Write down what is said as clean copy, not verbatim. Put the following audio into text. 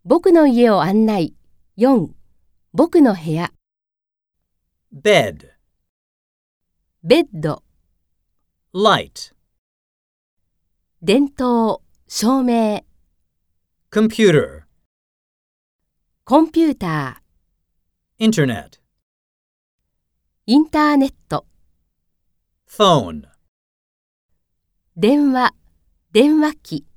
僕の家を案内。4、僕の部屋。 bed, ベッド、 light, 電灯、照明、 computer, コンピューター、 internet, インターネット、 phone. 電話、電話機。